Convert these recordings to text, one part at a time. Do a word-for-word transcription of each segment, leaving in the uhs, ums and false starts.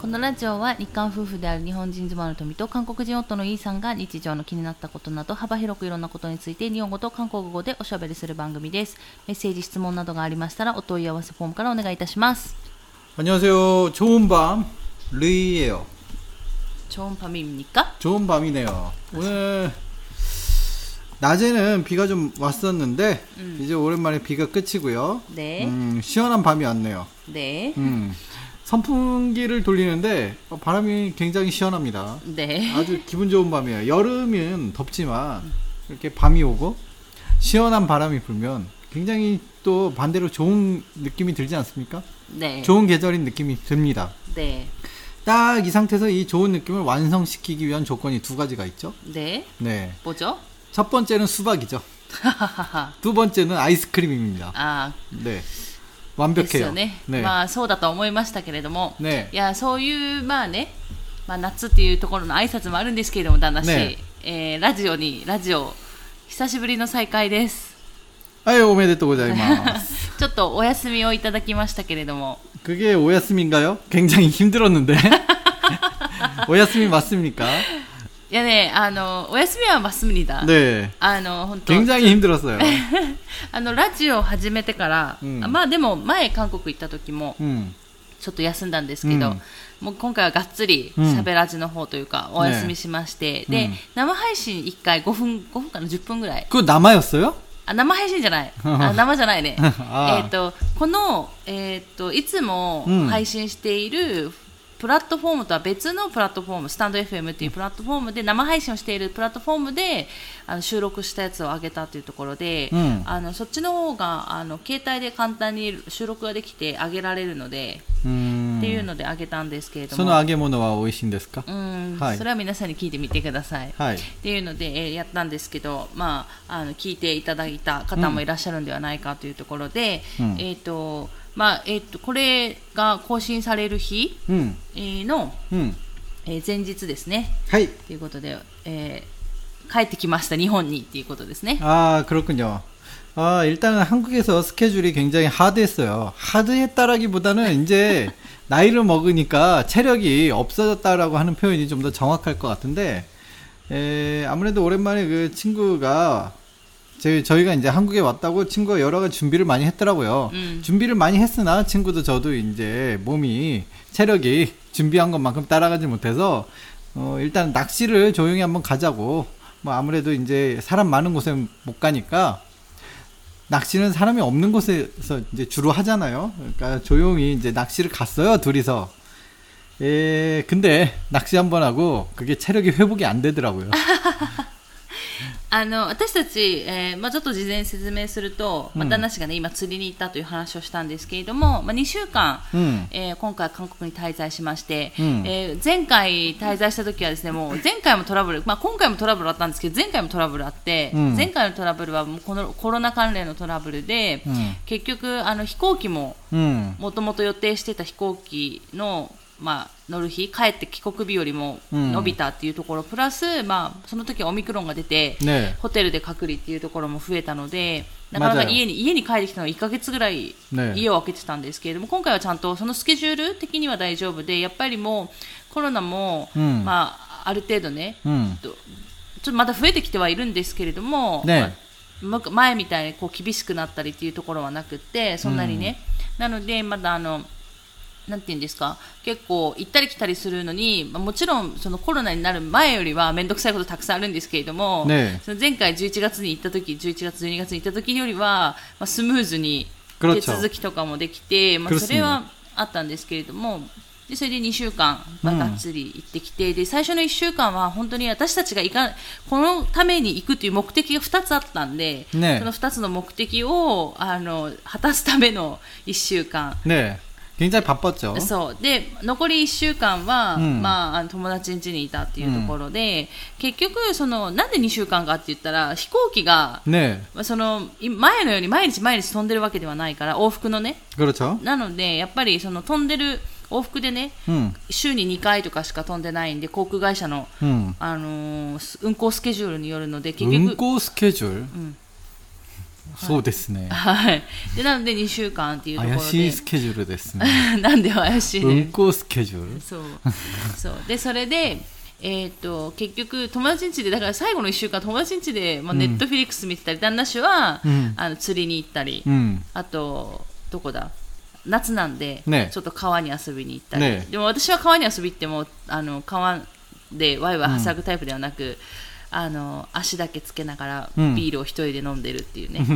このラジオは日韓夫婦である日本人妻の富と韓国人夫のイーさんが日常の気になったことなど幅広くいろんなことについて日本語と韓国語でおしゃべりする番組です。メッセージ質問などがありましたらお問い合わせフォームからお願いいたします。 안녕하세요. 좋은 밤 르이예요. 좋은 밤입니까? 좋은 밤이네요. 오늘 낮에는 비가 좀 왔었는데 음. 이제 오랜만에 비가 끝이고요. 네. 음, 시원한 밤이 왔네요. 네. 음, 선풍기를 돌리는데 바람이 굉장히 시원합니다. 네. 아주 기분 좋은 밤이에요. 여름은 덥지만 이렇게 밤이 오고 시원한 바람이 불면 굉장히 또 반대로 좋은 느낌이 들지 않습니까? 네. 좋은 계절인 느낌이 듭니다. 네. 딱 이 상태에서 이 좋은 느낌을 완성시키기 위한 조건이 두 가지가 있죠. 네. 네. 뭐죠? 첫 번째는 수박이죠. 두 번째는 아이스크림입니다. 아, 네. 완벽해요. 네. ね。 まあそうだと思いましたけれども、 ね。 いやそういうまあね、まあ夏っていうところの挨拶もあるんですけれども、旦那氏、 ねえー、ラジオにラジオ久しぶりの再会です。 はい、おめでとうございます。 ちょっとお休みをいただきましたけれども。 그게 오야스미인가요? 굉장히 힘들었는데. 오야스미 맞습니까? いやね、あのお休みは맞습니다。 네. あの本当 굉장히 힘들었어요. あのラジオを始めてから、うん、まあでも前韓国行った時も、うん、ちょっと休んだんですけど、うん、もう今回はがっつりしゃべラジの方というか、うん、お休みしまして、ね、で、うん、生配信いっかいごふんごふんかなじゅっぷんぐらい。 これ生였어요？ あ、生配信じゃない。あ、生じゃないね。えっとこのえっ、ー、といつも配信している、うん、プラットフォームとは別のプラットフォーム、スタンド エフエム っていうプラットフォームで生配信をしているプラットフォームであの収録したやつを上げたというところで、うん、あのそっちの方があの携帯で簡単に収録ができて上げられるので、うーんっていうので上げたんですけれども、 その揚げ物は美味しいんですか？ うん、 はい、 それは皆さんに聞いてみてください、はい、っていうので、えー、やったんですけど、まあ、あの聞いていただいた方もいらっしゃるんではないかというところで、うん、えっとまあえー、とこれが更新される日、うんえー、の、うんえー、前日ですね。 はい。 ということで、えー、帰ってきました日本にっていうことですね。 ああ、그렇군요。아, 일단은 한국에서 스케줄이 굉장히 하드했어요. 하드했다라기보다는 이제 나이를 먹으니까 체력이 없어졌다라고 하는 표현이 좀 더 정확할 것 같은데, 에, 아무래도 오랜만에 그 친구가 제, 저희가 이제 한국에 왔다고 친구가 여러 가지 준비를 많이 했더라고요. 음. 준비를 많이 했으나 친구도 저도 이제 몸이 체력이 준비한 것만큼 따라가지 못해서 어, 일단 낚시를 조용히 한번 가자고. 뭐 아무래도 이제 사람 많은 곳에 못 가니까 낚시는 사람이 없는 곳에서 이제 주로 하잖아요. 그러니까 조용히 이제 낚시를 갔어요, 둘이서. 에, 근데 낚시 한번 하고 그게 체력이 회복이 안 되더라고요. あの私たち、えーまあ、ちょっと事前に説明すると、まあ、旦那氏が、ね、今釣りに行ったという話をしたんですけれども、まあ、にしゅうかん、うんえー、今回韓国に滞在しまして、うんえー、前回滞在した時はですね、もう前回もトラブル、まあ、今回もトラブルあったんですけど前回もトラブルあって、うん、前回のトラブルはもうこのコロナ関連のトラブルで、うん、結局あの飛行機ももともと予定してた飛行機のまあ、乗る日帰って帰国日よりも伸びたっていうところ、うん、プラス、まあ、その時はオミクロンが出て、ね、ホテルで隔離っていうところも増えたのでなかなか家に、家に帰ってきたのがいっかげつぐらい家を空けてたんですけれども、ね、今回はちゃんとそのスケジュール的には大丈夫でやっぱりもうコロナも、うんまあ、ある程度ね、うん、ちょっとまだ増えてきてはいるんですけれども、ねまあ、前みたいにこう厳しくなったりっていうところはなくってそんなにね、うん、なのでまだあのなんていうんですか結構行ったり来たりするのに、まあ、もちろんそのコロナになる前よりは面倒くさいことたくさんあるんですけれども、ね、その前回じゅういちがつに行った時じゅういちがつじゅうにがつに行った時よりは、まあ、スムーズに手続きとかもできて、まあ、それはあったんですけれどもでそれでにしゅうかん、まあ、がっつり行ってきて、うん、で最初のいっしゅうかんは本当に私たちが行かこのために行くという目的がふたつあったんで、ね、そのふたつの目的をあの果たすためのいっしゅうかん、 ね굉장히 바빴죠. そうで残りいっしゅうかんは、うんまあ、あの友達ん家にいたっていうところで、うん、結局そのなんでにしゅうかんかって言ったら飛行機が、ね、その前のように毎日毎日飛んでるわけではないから往復のねなのでやっぱりその飛んでる往復でね、うん、週ににかいとかしか飛んでないんで航空会社の、うんあのー、運航スケジュールによるので結局運航スケジュール、うんそうですね。 はい。で、なのでにしゅうかんっていうところで。 怪しいスケジュールですね。 なんで怪しいね。 運行スケジュール。 そう。そう。で、それで、えー、と結局友達ん家でだから最後のいっしゅうかん友達ん家で、まあ、ネットフィリックス見てたり、うん、旦那氏は、うん、あの釣りに行ったり、うん、あとどこだ夏なんで、ね、ちょっと川に遊びに行ったり、ね、でも私は川に遊び行ってもあの川でワイワイはしゃぐタイプではなく、うん、あの足だけつけながらビールを一人で飲んでるっていうね、うん、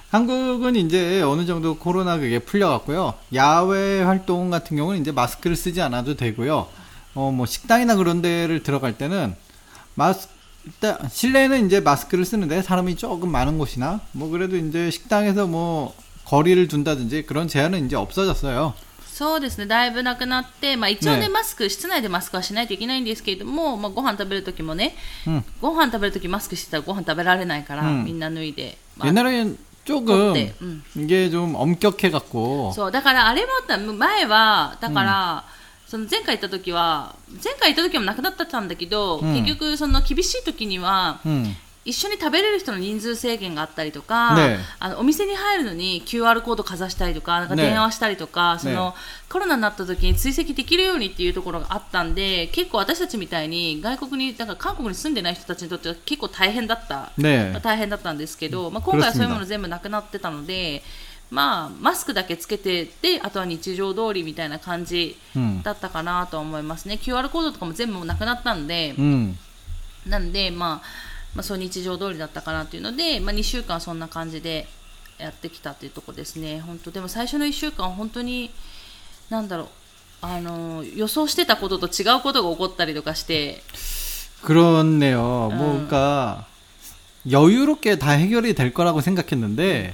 한국은이제어느정도코로나가게풀려갔고요야외활동같은경우는이제마스크를쓰지않아도되고요뭐그래도이제식당에서뭐거리를둔다든지그런제한은이제없어졌어요 そうですね。だいぶなくなって、まあ、一応ね、ねマスク室内でマスクはしないといけないんですけれども、まあ、ご飯食べるときもね、うん、ご飯食べるときマスクしてたらご飯食べられないから、うん、みんな脱いで、 まあ、옛날엔조금이게좀엄격해갖고 そうだからあれもあった前はだから、うん、その前回行った時は前回行った時もなくなったんだけど、うん、結局その厳しい時には、うん一緒に食べれる人の人数制限があったりとか、ね、あのお店に入るのに キューアール コードかざしたりとか、なんか電話したりとか、ね、そのコロナになった時に追跡できるようにっていうところがあったんで、結構私たちみたいに外国にだから韓国に住んでない人たちにとっては結構大変だった、ねまあ、大変だったんですけど、まあ、今回はそういうもの全部なくなってたので、まあ、マスクだけつけてであとは日常通りみたいな感じだったかなと思いますね、うん、キューアール コードとかも全部なくなったんで、うん、なんでまあまあ、そう日常通りだったかなというので、まあ、にしゅうかんそんな感じでやってきたというところですね。本当でも最初のいっしゅうかん本当になんだろうあの予想してたことと違うことが起こったりとかして。 그렇네요. 음. 뭔가 여유롭게 다 해결이 될 거라고 생각했는데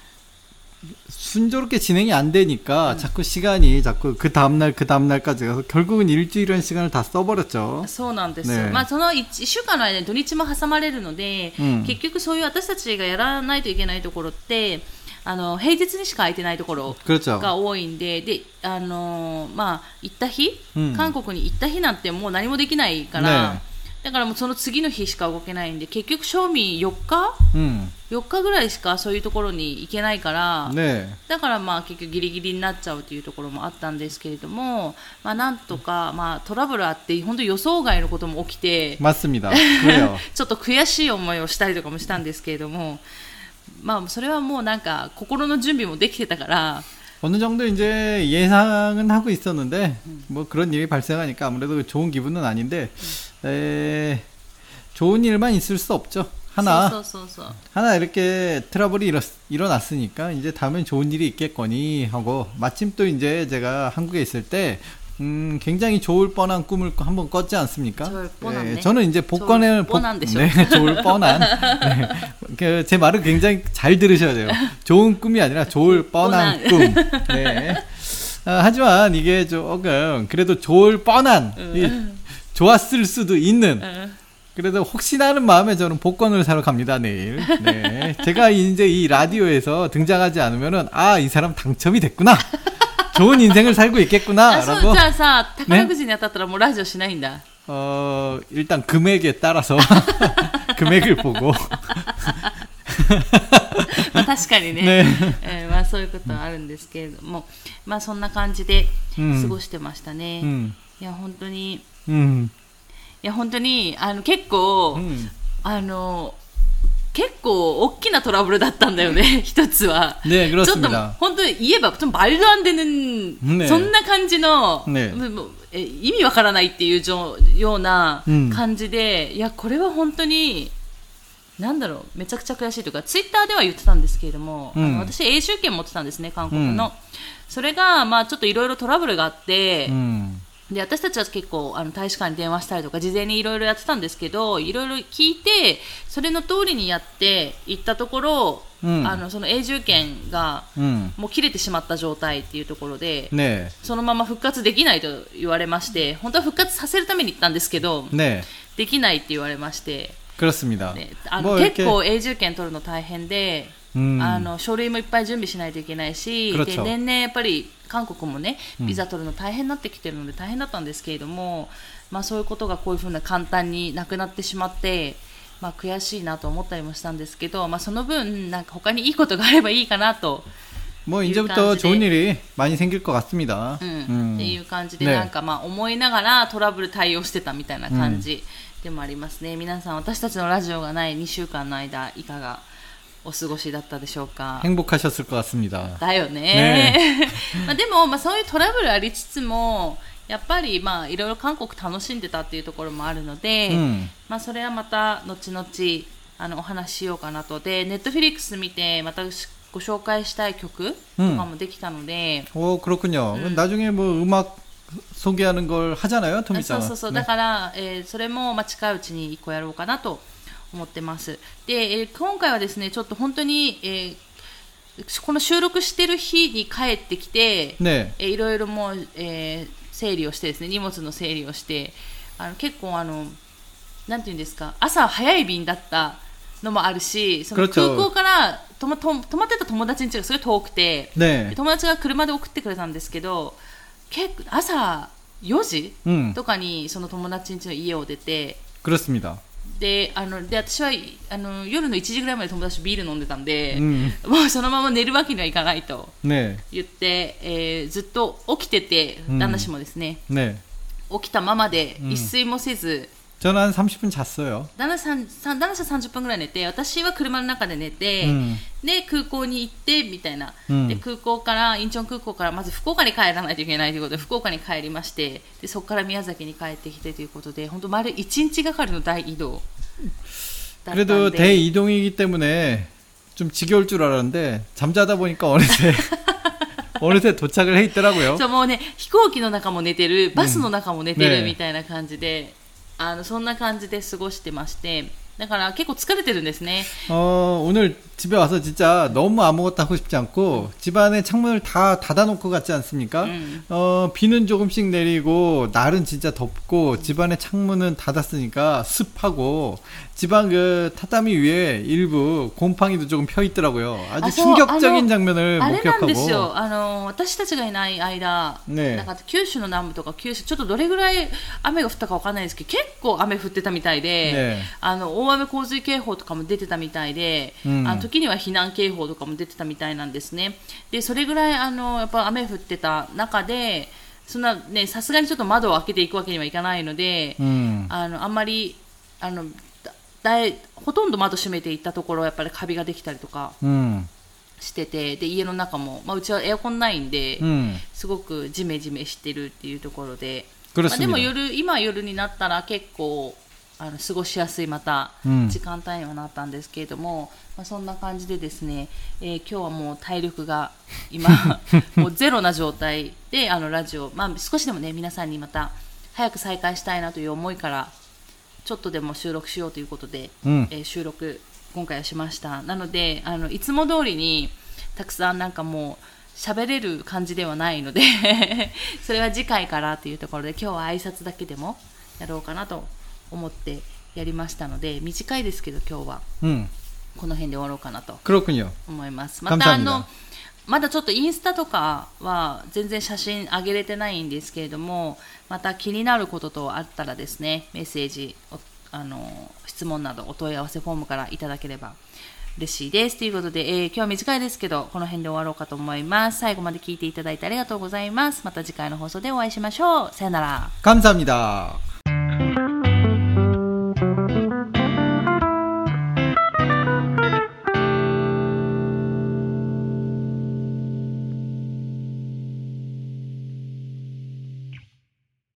순조롭게 진행이 안 되니까 음. 자꾸 시간이 자꾸 그 다음날 그 다음날까지 가서 결국은 일주일이라는 시간을 다 써버렸죠. そうなんです。ね、まあそのいっしゅうかんの間に土日も挟まれるので、うん、結局そういう私たちがやらないといけないところってあの平日にしか空いてないところが多いんで、であのまあ行った日、うん、韓国に行った日なんてもう何もできないから。ねだからもうその次の日しか動けないんで結局賞味よっか、うん、よっかぐらいしかそういうところに行けないから、ね、だからまあ結局ギリギリになっちゃうというところもあったんですけれども、まあ、なんとかまあトラブルあって本当予想外のことも起きて 맞습니다. ちょっと悔しい思いをしたりとかもしたんですけれどもまあそれはもうなんか心の準備もできてたから 어느 정도 이제 예상은 하고 있었는데 음. 뭐 그런 일이 발생하니까 아무래도 좋은 기분은 아닌데 음. 에, 좋은 일만 있을 수 없죠. 하나 소, 소, 소, 소. 하나 이렇게 트러블이 일어, 일어났으니까 이제 다음엔 좋은 일이 있겠거니 하고 마침 또 이제 제가 한국에 있을 때 음, 굉장히 좋을 뻔한 꿈을 한번 꿨지 않습니까? 좋을 뻔한데. 네, 저는 이제 복권을 복, 네, 좋을 뻔한. 네, 그, 제 말을 굉장히 잘 들으셔야 돼요. 좋은 꿈이 아니라 좋을 뻔한 꿈. 네. 아, 하지만 이게 조금 그래도 좋을 뻔한, 이, 좋았을 수도 있는. 그래도 혹시나 하는 마음에 저는 복권을 사러 갑니다, 내일. 네. 제가 이제 이 라디오에서 등장하지 않으면은, 아, 이 사람 당첨이 됐구나. 좋은 인생을 살고 있겠구나라고. 자, 자, 타카라쿠지に当たったらもうラジオしないんだ. 어, 일단 금액에 따라서 금액을 보고. まあ確かにね。ねえー、まあそういうことはあるんですけれども、まあそんな感じで過ごしてましたね。うん、いや本当に、うん、いや本当にあの結構、うん、あの。結構大きなトラブルだったんだよね一つは。 ね、 ちょっと本当に言えば말도 안 되는、ね、そんな感じの、ね、え意味わからないっていうような感じで、うん、いやこれは本当になんだろうめちゃくちゃ悔しいというかツイッターでは言ってたんですけれども、うん、あの私永住権持ってたんですね韓国の、うん、それがまあちょっといろいろトラブルがあって、うんで私たちは結構あの大使館に電話したりとか事前にいろいろやってたんですけどいろいろ聞いてそれの通りにやって行ったところ、うん、あのその永住権がもう切れてしまった状態っていうところで、ね、そのまま復活できないと言われまして本当は復活させるために行ったんですけど、ね、できないって言われまして、 그렇습니다. 네, あの結構永住権取るの大変で、うん、あの書類もいっぱい準備しないといけないし、で年々やっぱり韓国もねビザ取るの大変になってきてるので大変だったんですけれども、まあ、そういうことがこういうふうな簡単になくなってしまってまあ、悔しいなと思ったりもしたんですけど、まあ、その分なんか他にいいことがあればいいかなと。 뭐 이제부터 좋은 일이 많이 생길 것 같습니다. うん、うん、っていう感じで、なんかまあ思いながらトラブル対応してたみたいな感じでもありますね。皆さん、私たちのラジオがないにしゅうかんの間いかがお過ごしだったでしょうか。 행복하셨을 것 같습니다. だよね。まあでも、まあ、そういうトラブルありつつもやっぱりまあいろいろ韓国楽しんでたっていうところもあるので、うん、まあそれはまた後々あのお話ししようかなと。で、ネットフィリックス見てまたご紹介したい曲とかもできたので、 うん、お그렇군요。うん、나중에 뭐 음악 소개하는 걸 하잖아요, 토미짱은。 そうそうそう。だから、えー、それもまあ近いうちにいっこやろうかなと思ってます。で、えー、今回はですね、ちょっと本当に、えー、この収録してる日に帰ってきて、ね、えー、いろいろもう、えー、整理をしてですね、荷物の整理をして、あの結構あのなんていうんですか、朝早い便だったのもあるし、その空港からとまと泊まってた友達の家がすごい遠くて、ね、友達が車で送ってくれたんですけど、結構朝よじ、うん、とかにその友達の家の家を出て、 그렇습니다。 で、あので私はあの夜のいちじぐらいまで友達とビール飲んでたんで、うん、もうそのまま寝るわけにはいかないと言って、ね、えー、ずっと起きてて、旦那氏もですね、うん、ね、起きたままで一睡もせず、 저는 한 삼십 분 잤어요。 旦那さん、旦那さんさんじゅっぷんぐらい寝て、私は車の中で寝て、うん、で空港に行ってみたいな、うん、で空港からインチョン空港からまず福岡に帰らないといけないということで福岡に帰りまして、でそこから宮崎に帰ってきてということで、本当丸いちにちがかりの大移動だったんで。 그래도 대이동이기 때문에 좀 지겨울 줄 알았는데 잠자다 보니까 어느새 어느새 도착을 해 있더라고요。 そう、もうね、飛行機の中も寝てる、バスの中も寝てるみたいな感じで、うん、あのそんな感じで過ごしてまして、だから結構疲れてるんですね。 어, 오늘 집에 와서 진짜 너무 아무것도 하고 싶지 않고 집안에 창문을 다 닫아놓고 갔지 않습니까? 음. 어, 비는 조금씩 내리고 날은 진짜 덥고 집안에 창문은 닫았으니까 습하고 집안 그 타타미 위에 일부 곰팡이도 조금 펴 있더라고요. 아주 아, 충격적인 저, 장면을 목격하고. あの私たちがいない間、ね、なんか九州の南部とか九州ちょっとどれぐらい雨が降ったかわかんないですけど、結構雨降ってたみたいで、ね、あの大雨洪水警報とかも出てたみたいで、うん、あの時には避難警報とかも出てたみたいなんですね。でそれぐらいあのやっぱ雨降ってた中で、そんなね、さすがにちょっと窓を開けていくわけにはいかないので、うん、あのあんまりあのだいほとんど窓閉めていったところやっぱりカビができたりとかしてて、うん、で家の中も、まあ、うちはエアコンないんで、うん、すごくジメジメしてるっていうところで、まあ、でも夜今夜になったら結構あの過ごしやすいまた時間帯にはなったんですけれども、うん、まあ、そんな感じでですね、えー、今日はもう体力が今もうゼロな状態であのラジオ、まあ、少しでもね皆さんにまた早く再開したいなという思いからちょっとでも収録しようということで、うん、えー、収録今回はしました。なのであのいつも通りにたくさんなんかもう喋れる感じではないのでそれは次回からというところで、今日は挨拶だけでもやろうかなと思ってやりましたので、短いですけど今日はこの辺で終わろうかなと思います。またあのまだちょっとインスタとかは全然写真上げれてないんですけれども、また気になることとあったらですね、メッセージ、あの質問などお問い合わせフォームからいただければ嬉しいですということで、えー、今日は短いですけどこの辺で終わろうかと思います。最後まで聞いていただいてありがとうございます。また次回の放送でお会いしましょう。さよなら。 감사합니다。